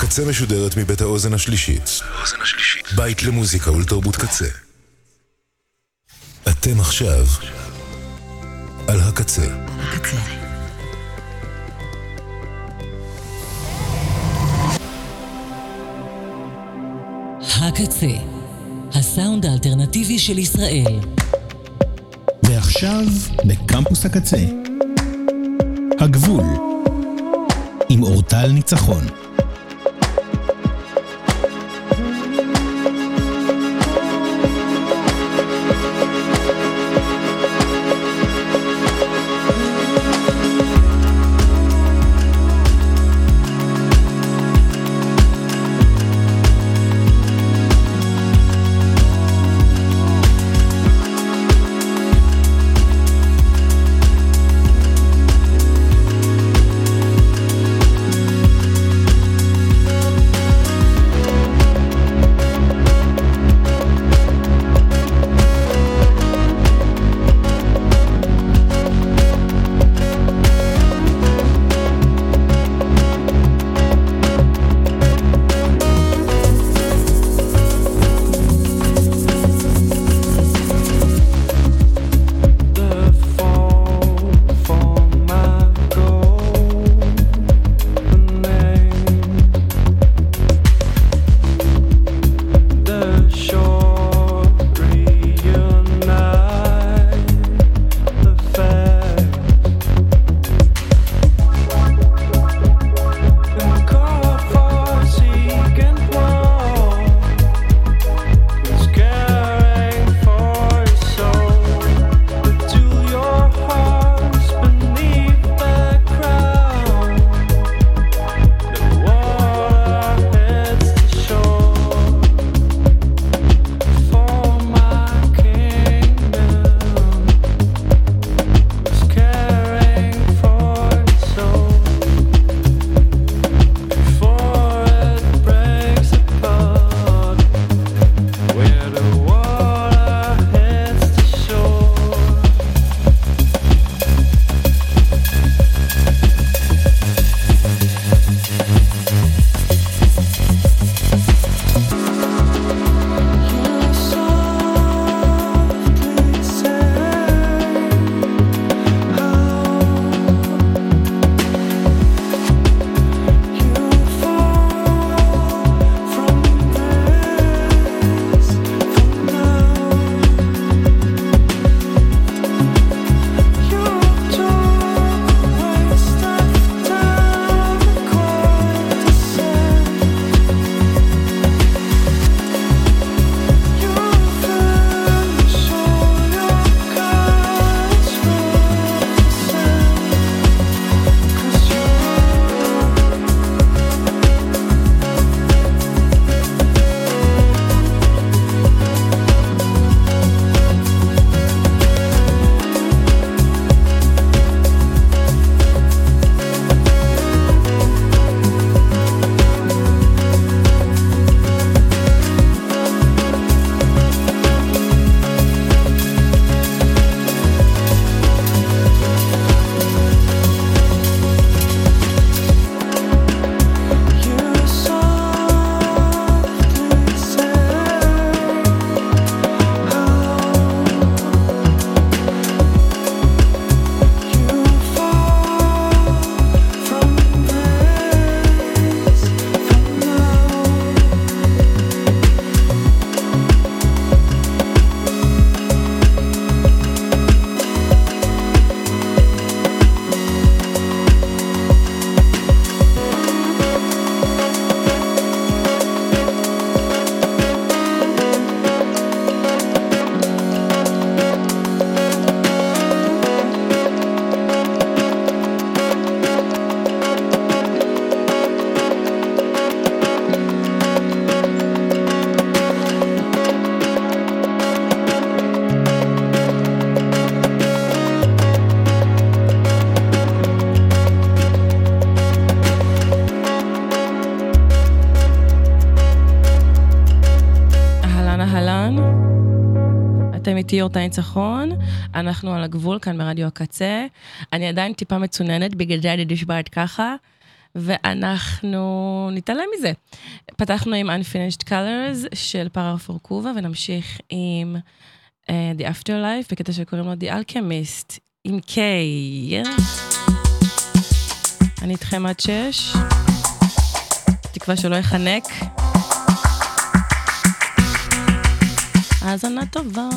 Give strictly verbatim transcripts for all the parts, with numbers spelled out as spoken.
הקצה משודרת מבית האוזן השלישית. בית למוזיקה ולתרבות קצה. אתם עכשיו על הקצה. הקצה. הקצה, הסאונד האלטרנטיבי של ישראל. ועכשיו בקמפוס הקצה, הגבול, עם אורטל ניצחון. אתם איתי אורטל ניצחון, אנחנו על הגבול כאן ברדיו הקצה. אני עדיין טיפה מצוננת, בגלל זה אני נשמעת ככה. ואנחנו נתעלם מזה. פתחנו עם Unfinished Colors של פארה פורקובה, ונמשיך עם uh, The Afterlife, בקטע שקוראים לו The Alchemist, עם K. אני איתכם עד שש. תקווה שלא יחנק. האזנה טובה.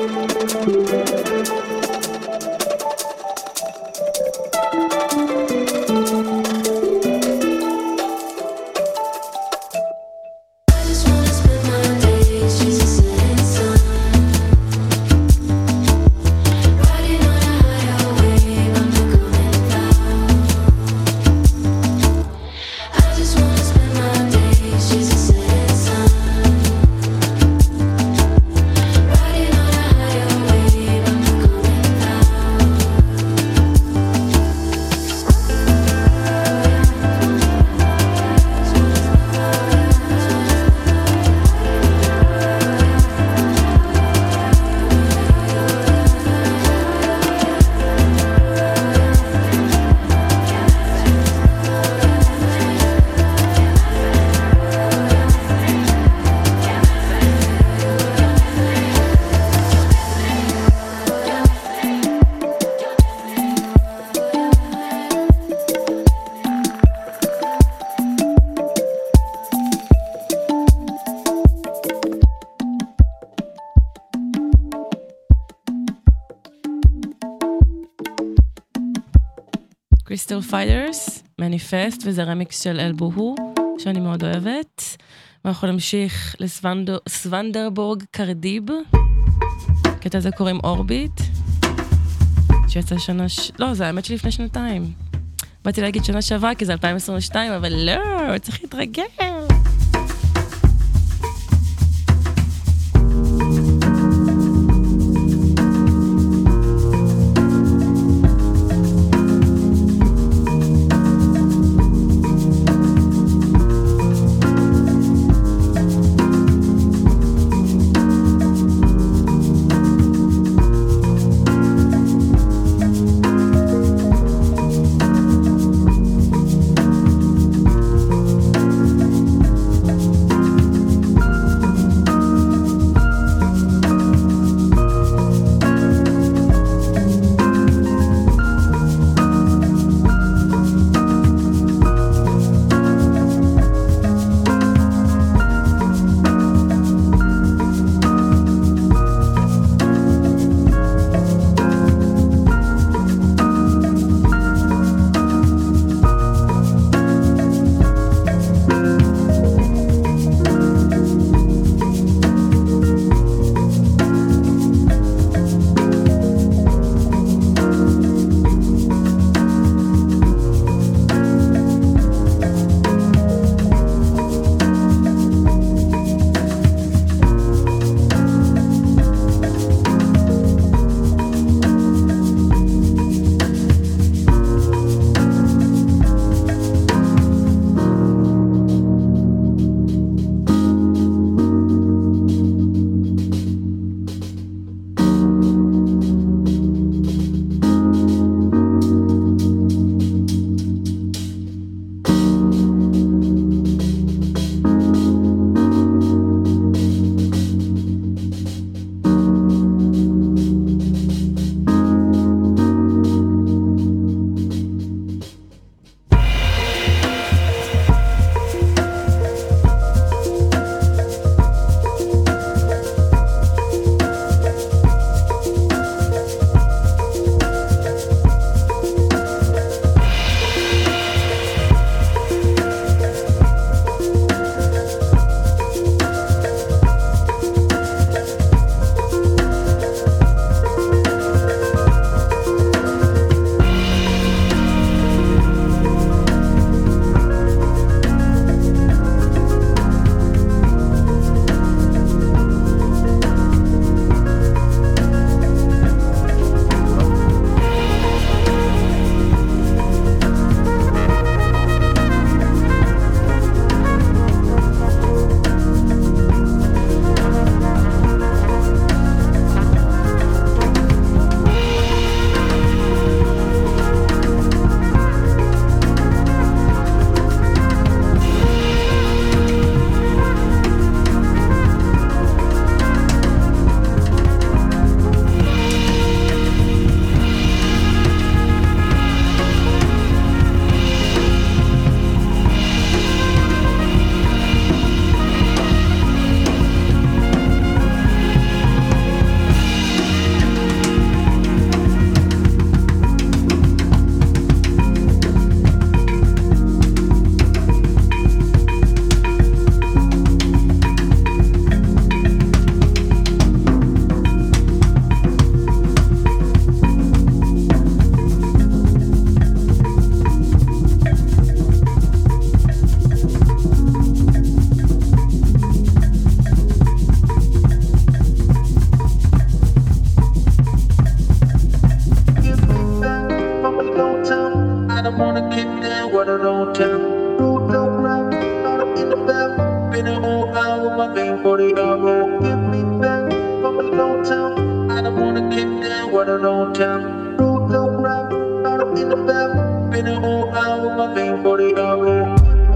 קריסטל פייטרס, מניפסט, וזה רמיקס של אלבוהו, שאני מאוד אוהבת. ואנחנו נמשיך לסוונדרבורג קרדיב. קטע הזה קוראים אורביט. שיצא שנה... ש... לא, זה האמת שלפני שנתיים. באתי להגיד שנה שעברה, כי זה אלפיים עשרים ושתיים, אבל לא, צריך להתרגל. go. Give me back from the old town. I don't wanna get down what I don't town. Road no rap, out in the back. Been a whole hour with my vein for the go.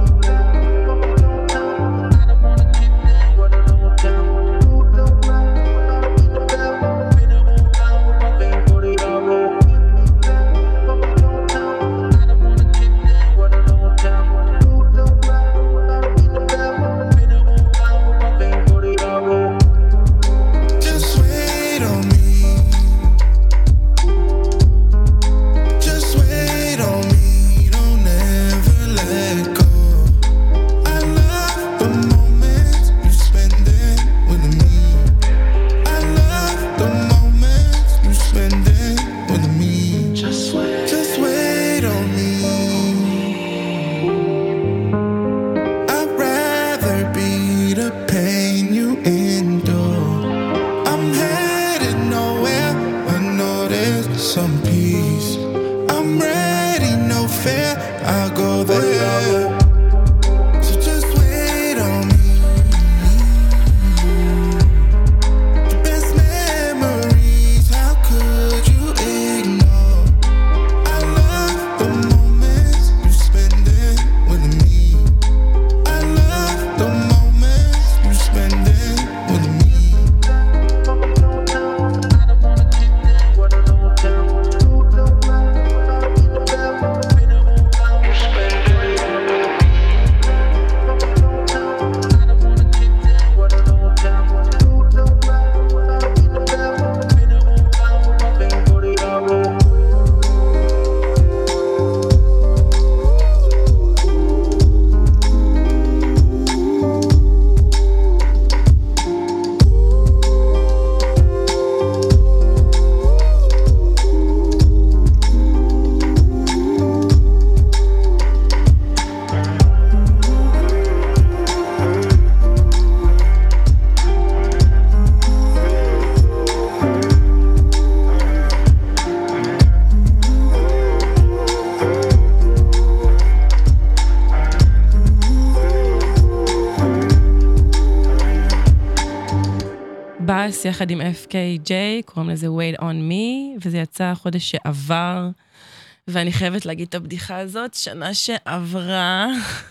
בס יחד עם אף קיי ג'יי, קוראים לזה Wait on Me, וזה יצא חודש שעבר, ואני חייבת להגיד את הבדיחה הזאת, שנה שעברה,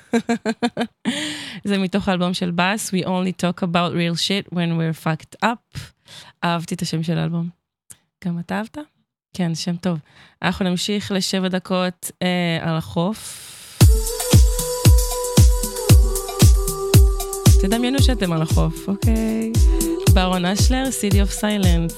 זה מתוך האלבום של בס, We only talk about real shit when we're fucked up, אהבתי את השם של האלבום. גם אתה אהבת? כן, שם טוב. אנחנו נמשיך לשבע דקות אה, על החוף. תדמיינו שאתם על החוף, אוקיי? ברון אשלר, City of Silence.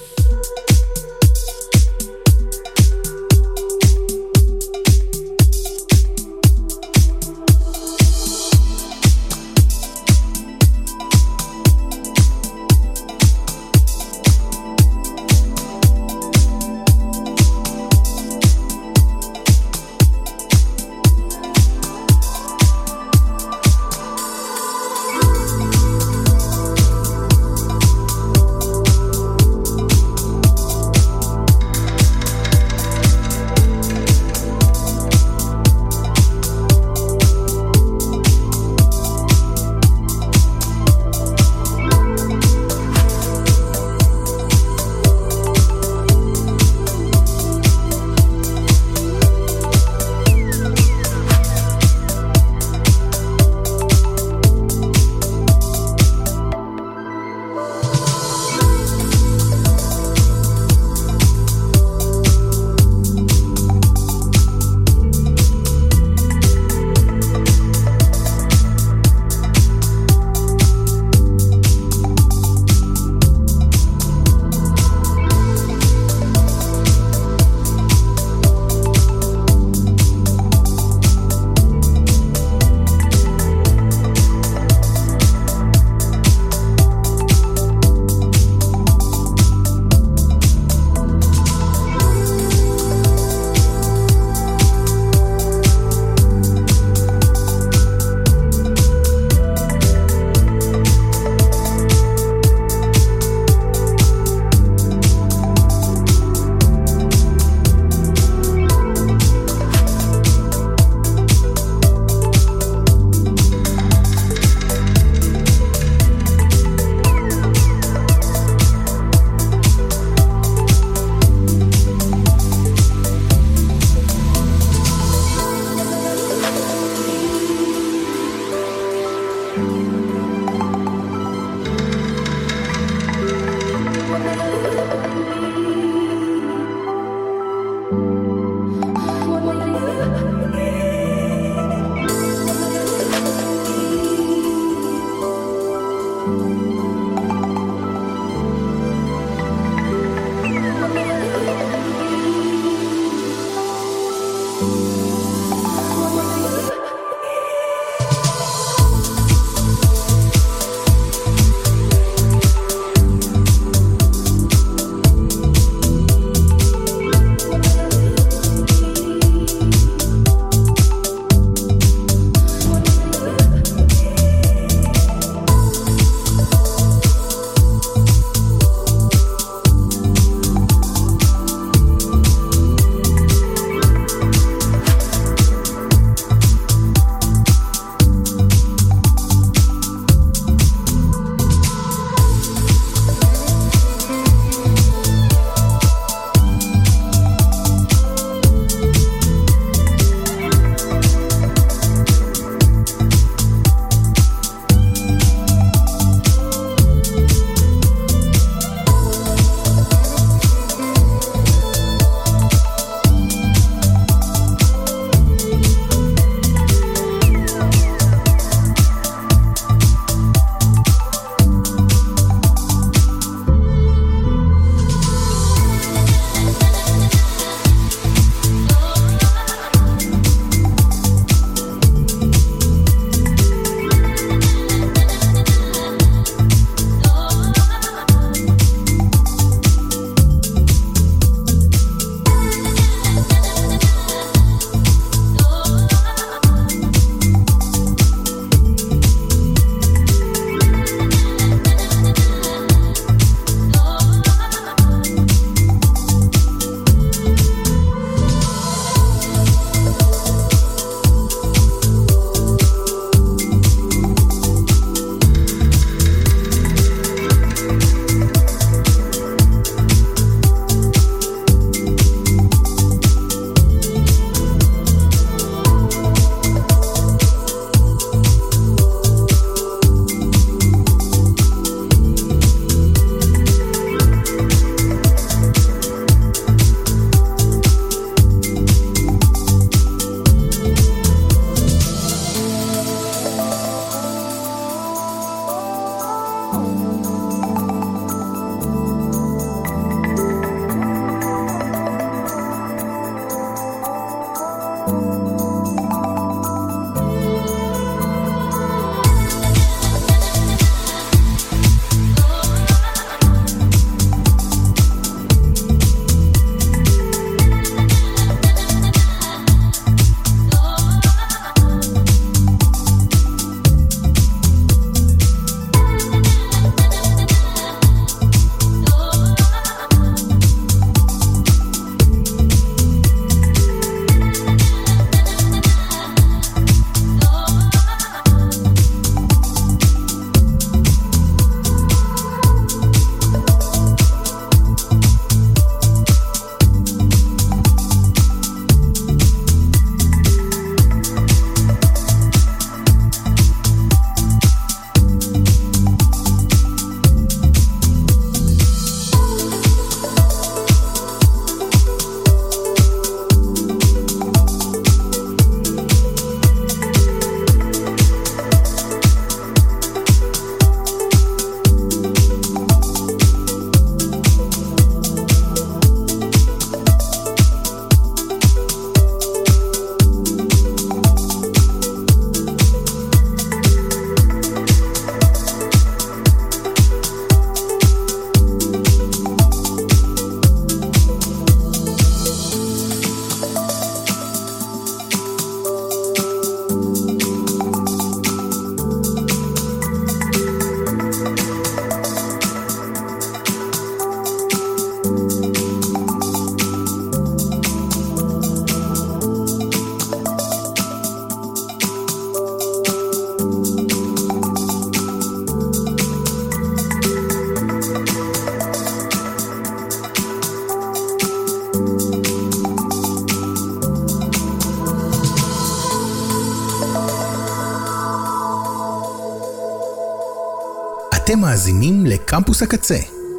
אתם מאזינים לקמפוס הקצה.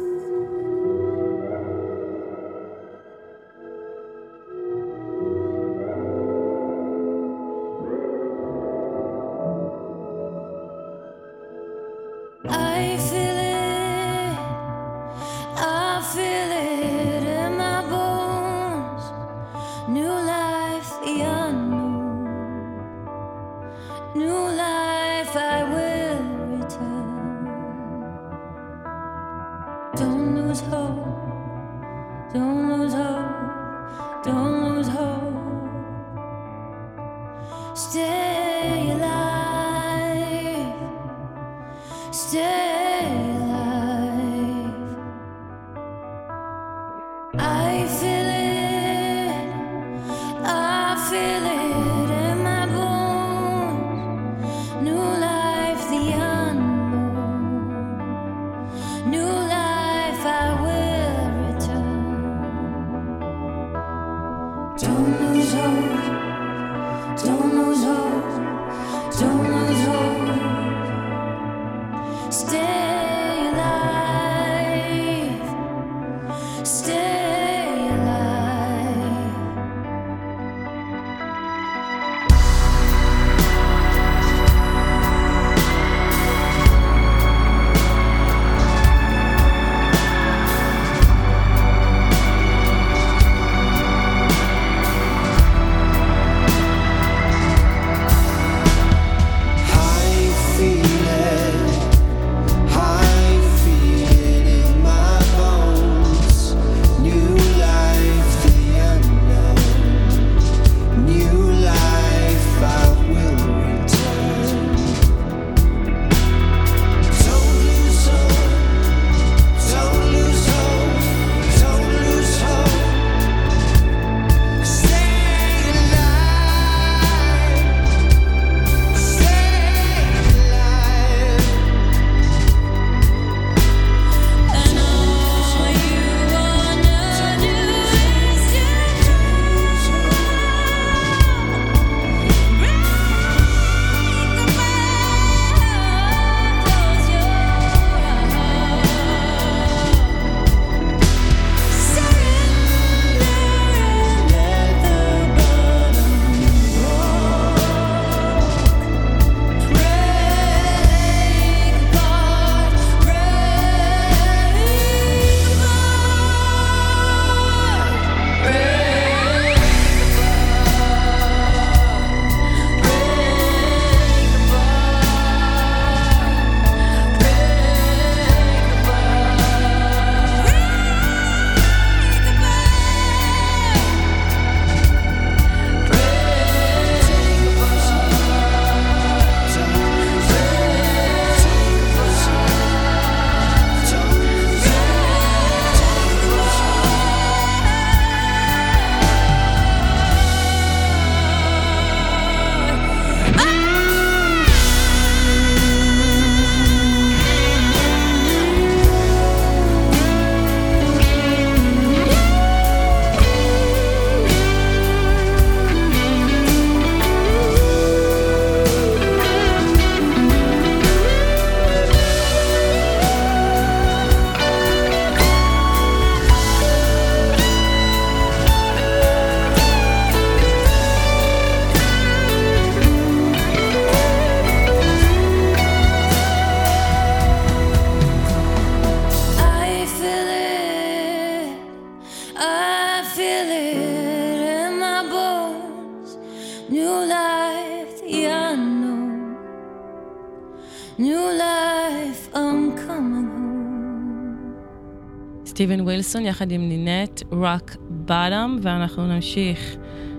סטיבן ווילסון יחד עם נינט רוק בוטום, ואנחנו נמשיך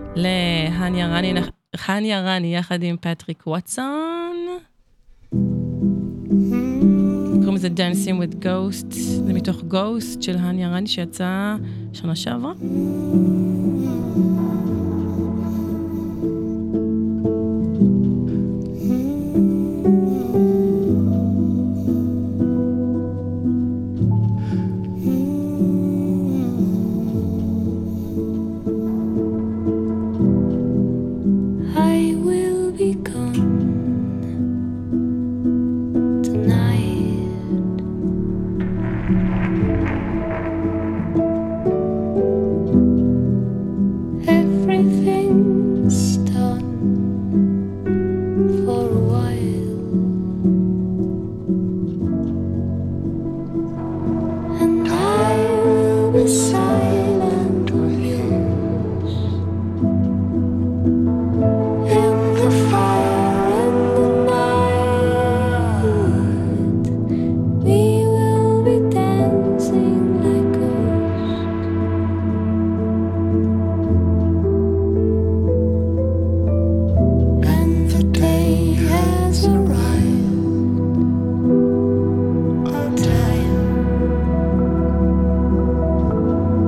להניה רני, הניה רני יחד עם פטריק ווטסון. קוראים לזה Dancing with Ghosts, זה מתוך Ghost של הניה רני שיצא שנה שעברה. Tonight Time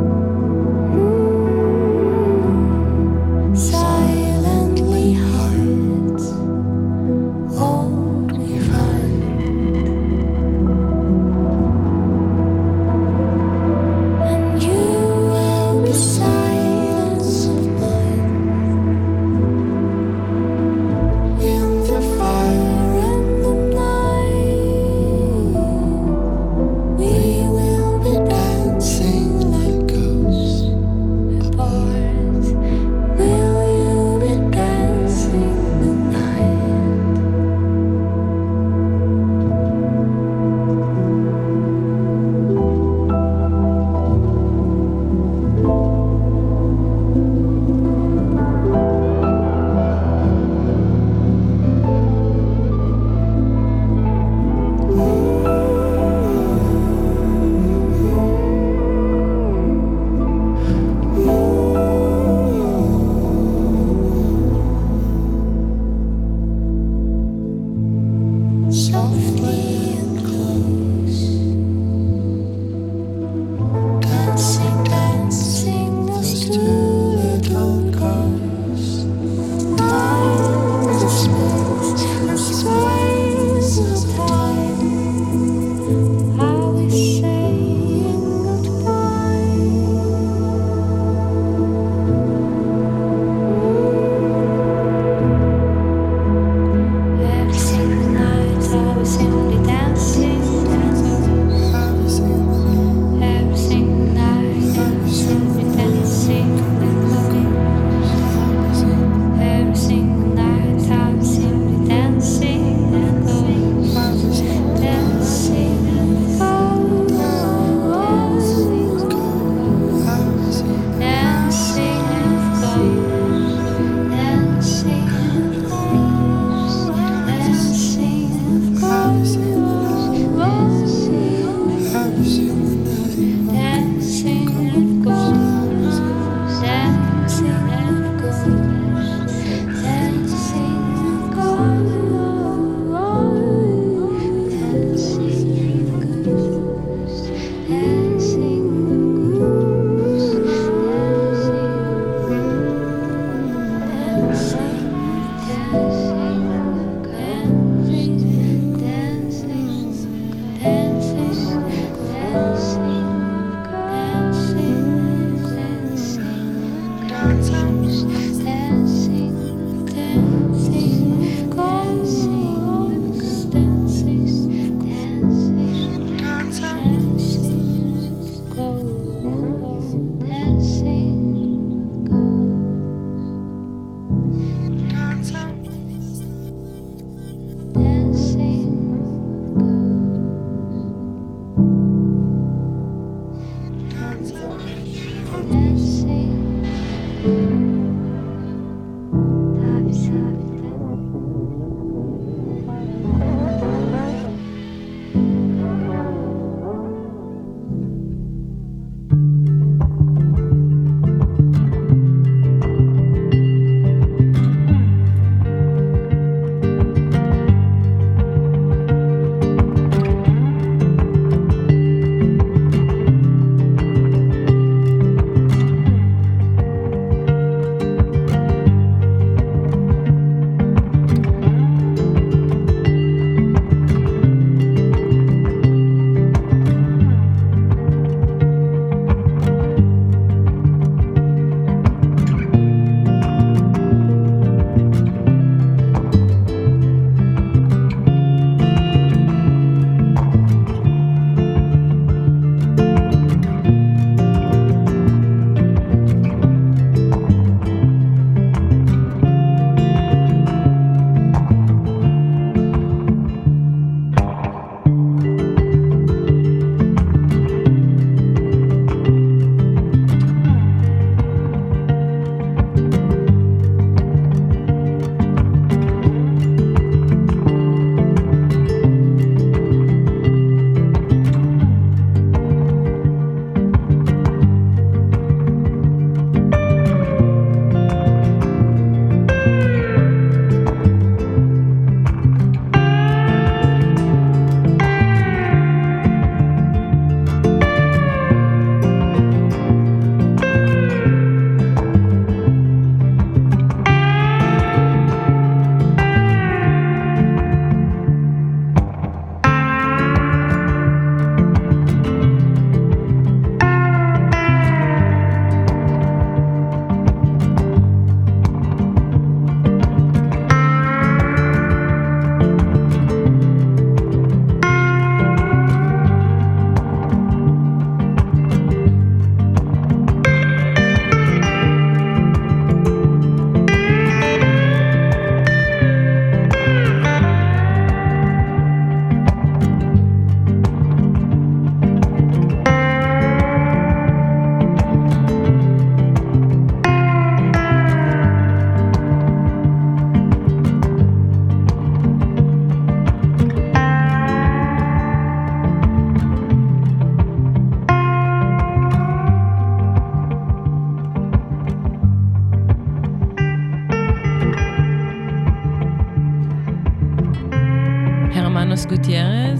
גוטיירז,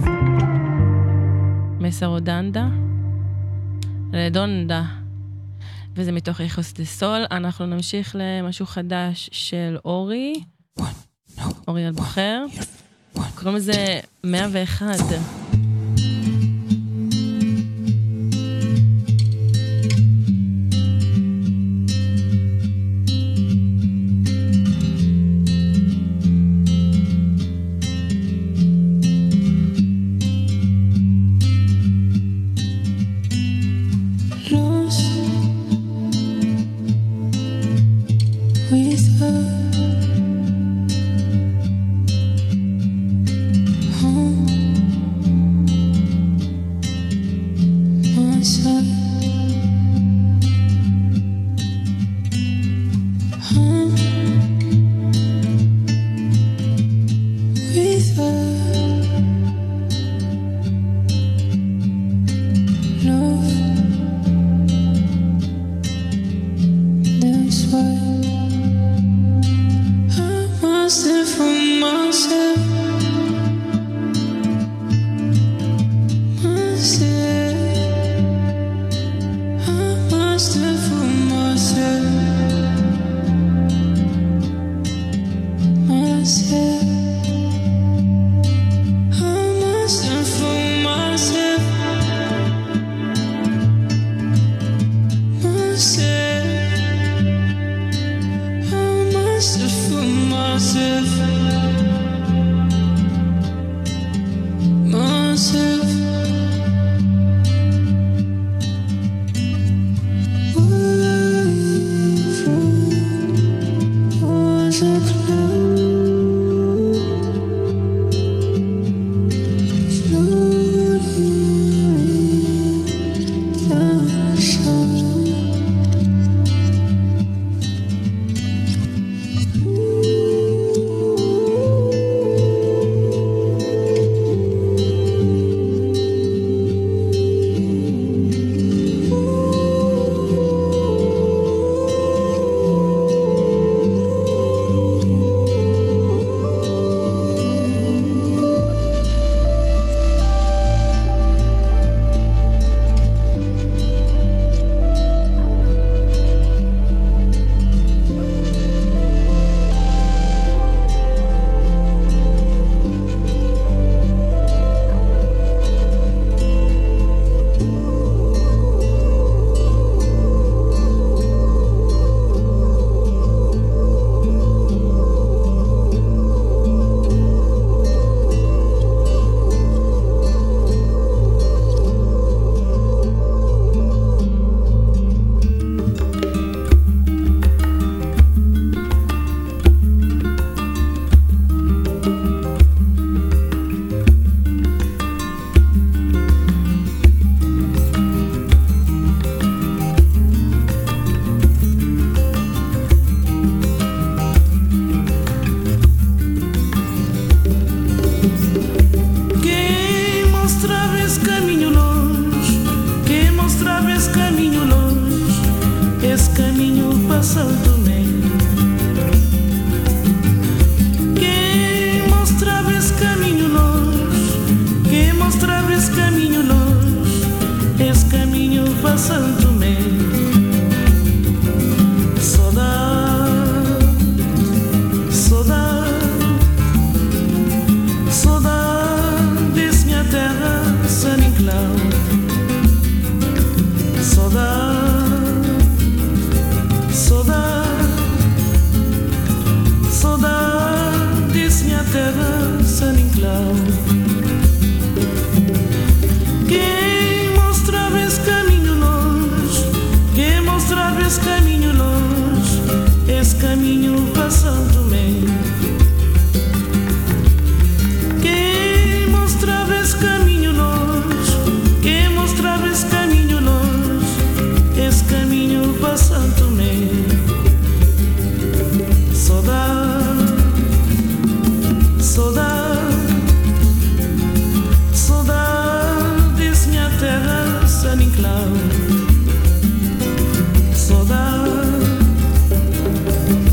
מסרודנדה, לדונדה, וזה מתוך איכוס דה סול. אנחנו נמשיך למשהו חדש של אורי, אורי אלבוחר, קוראים לזה מאה ואחת.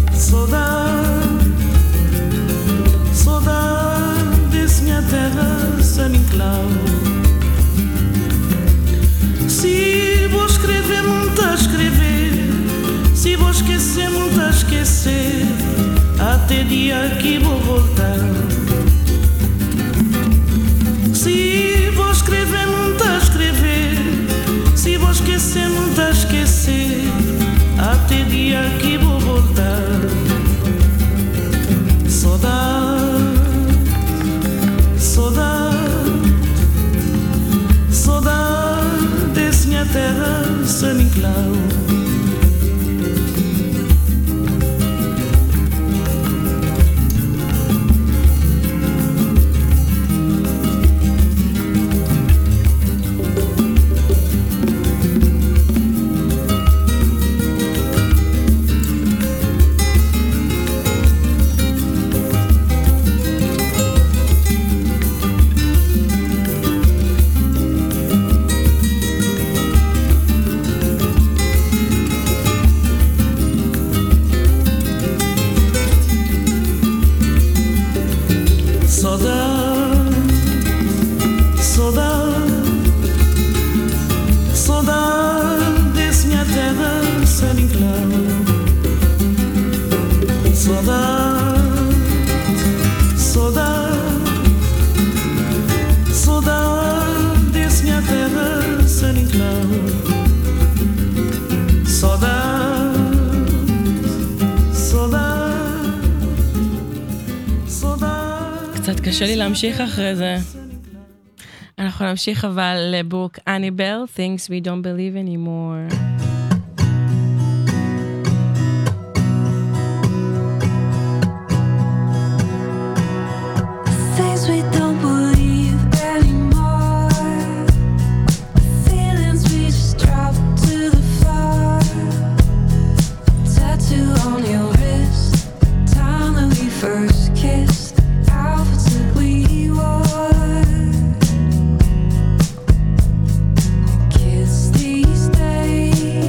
Saudade, saudade, minha terra esquecer, muito a esquecer, até dia que vou voltar. Se vou escrever, muito a escrever, se vou esquecer, muito a esquecer, até dia que vou voltar. Saudade, saudade, saudade desse minha terra, San Inclau. קצת קשה לי להמשיך אחרי זה. אנחנו נמשיך אבל לבוק אניבל, Things We Don't Believe Anymore. Kiss these days.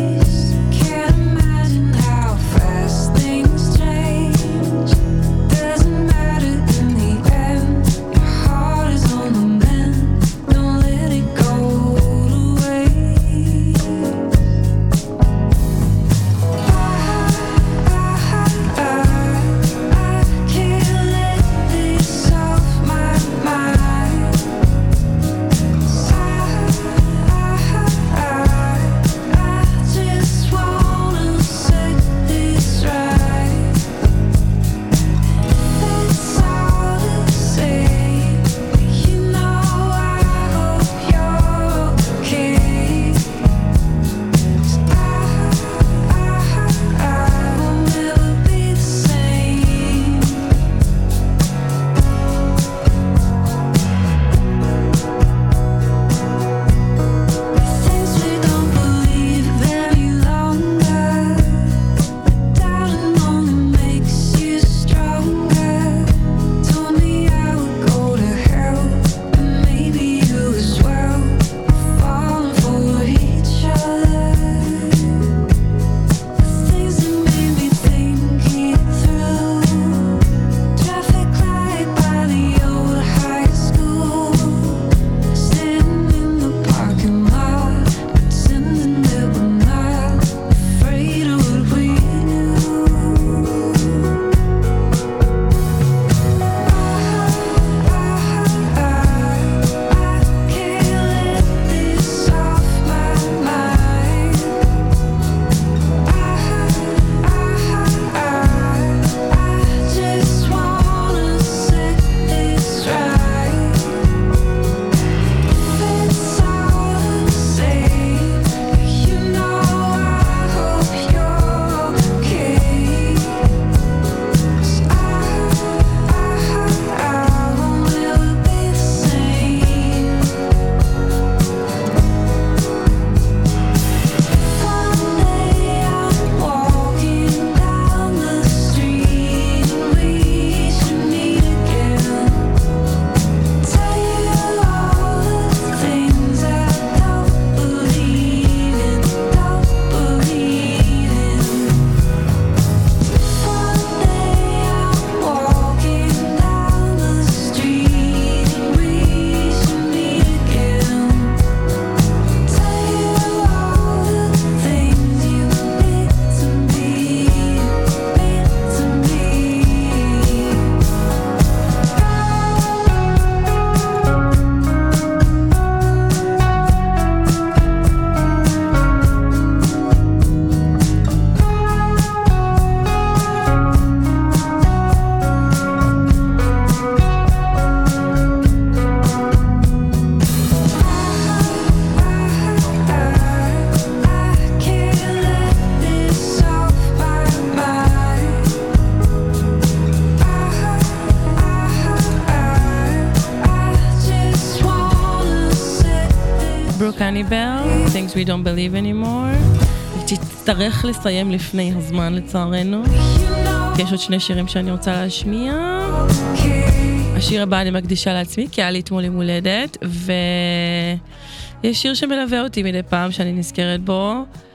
things we don't believe anymore. תצטרך לסיים לפני הזמן לצערנו. יש עוד שני שירים שאני רוצה להשמיע. השיר הבא אני מקדישה לעצמי, כי היה לי אתמול עם הולדת, ויש שיר שמלווה אותי מדי פעם שאני נזכרת בו.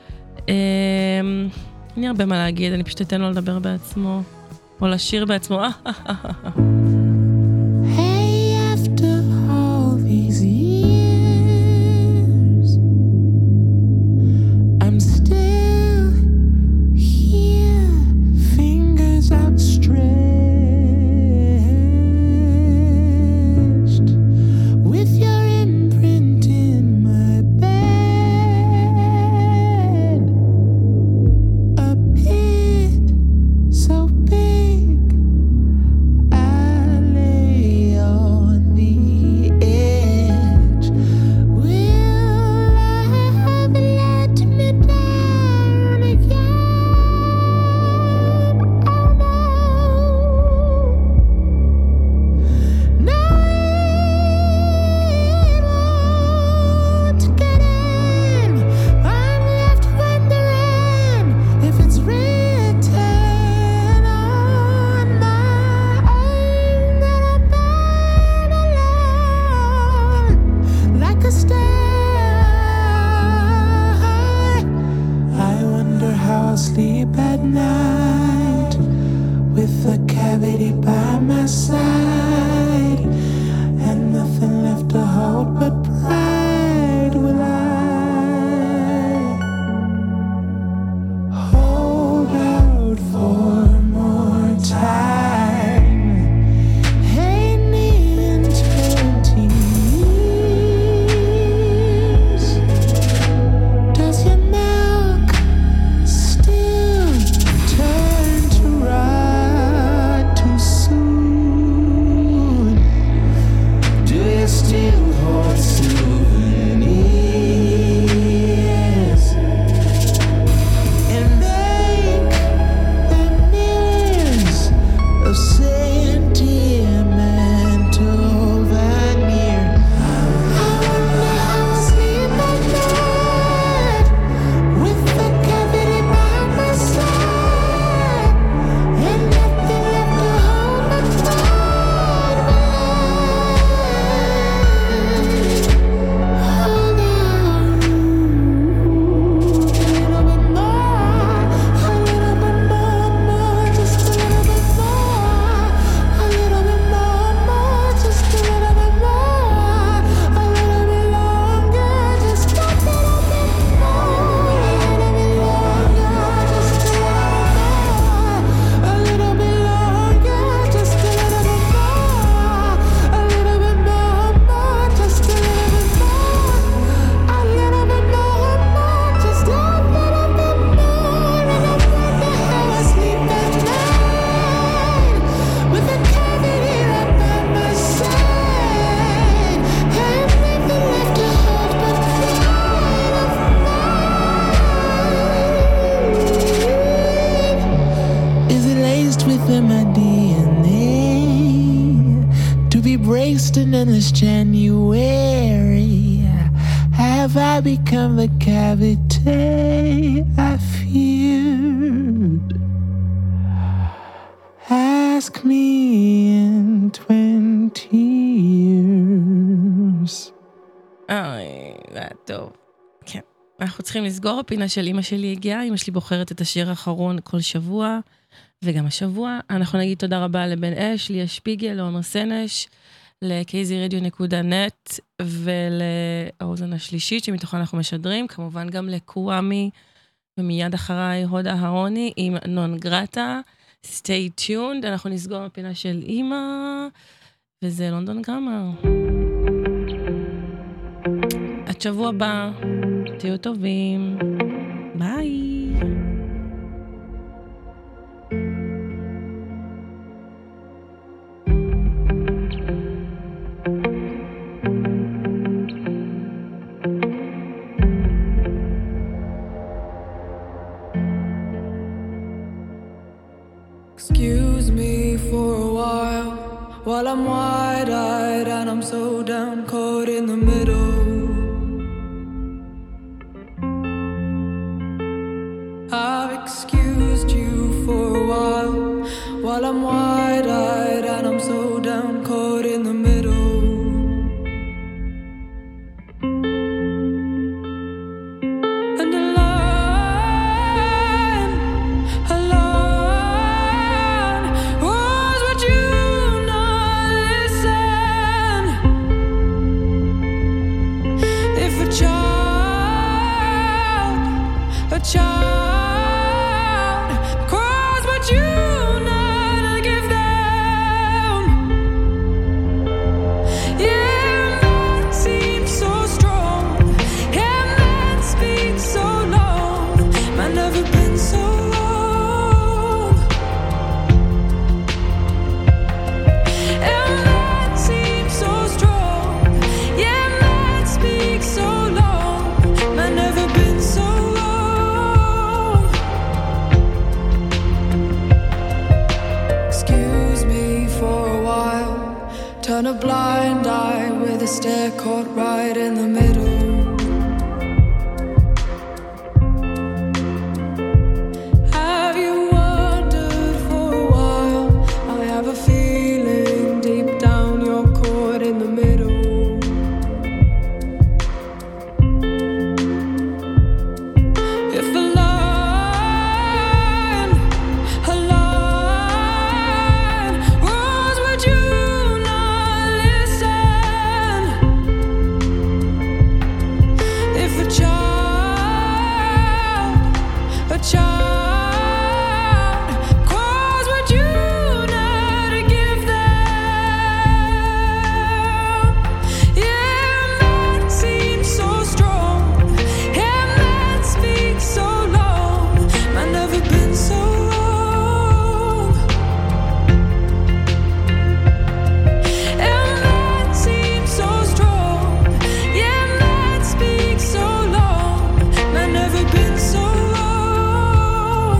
אני הרבה מה להגיד, אני פשוט אתן לו לדבר בעצמו, או לשיר בעצמו. Endless January, have I become the cavity I feared? Ask me in twenty years. אוי, זה היה טוב. כן. אנחנו צריכים לסגור. הפינה של אמא שלי הגיעה. אמא שלי בוחרת את השיר האחרון כל שבוע, וגם השבוע. אנחנו נגיד תודה רבה לבן אש, ליה שפיגל, לעומר סנש, ל-קייזי רדיו נקודה נט ולאוזן השלישית שמתוכה אנחנו משדרים, כמובן גם לקוואמי, ומיד אחריי הודה ההוני עם נון גרטה. Stay tuned, אנחנו נסגור הפינה של אמא, וזה לונדון גרמר. עד שבוע הבא, תהיו טובים, ביי. Excuse me for a while, while I'm wide-eyed and I'm so down caught in the middle. excused you for a while, while I'm wide-eyed and I'm so down, caught in the middle. And a line, a line was what you not listen. If a child, a child cries what you not give them. Yeah, man seems so strong. Yeah, man speaks so long. Man never been so long. Yeah, man seems so strong. Yeah, man speaks so long. Man never been so long. Excuse me for a while. Turn a blind eye with a stare caught right in the middle. Have you wondered for a while? I have a feeling deep down you're caught in the middle. If a line, a line was what you not listen. If a child, a child cries what you not give them. Yeah, man seems so strong. Yeah, man speaks so long. Man never been so long. Yeah, man seems so strong. Yeah, man speaks so long. Man never been so long.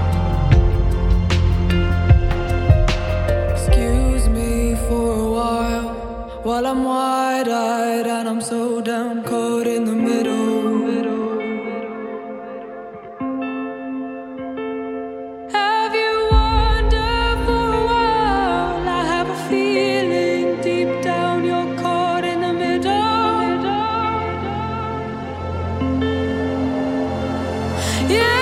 Excuse me for a while, while I'm wide-eyed and I'm so down, caught in the middle. Have you wondered for a while? I have a feeling deep down you're caught in the middle. Yeah.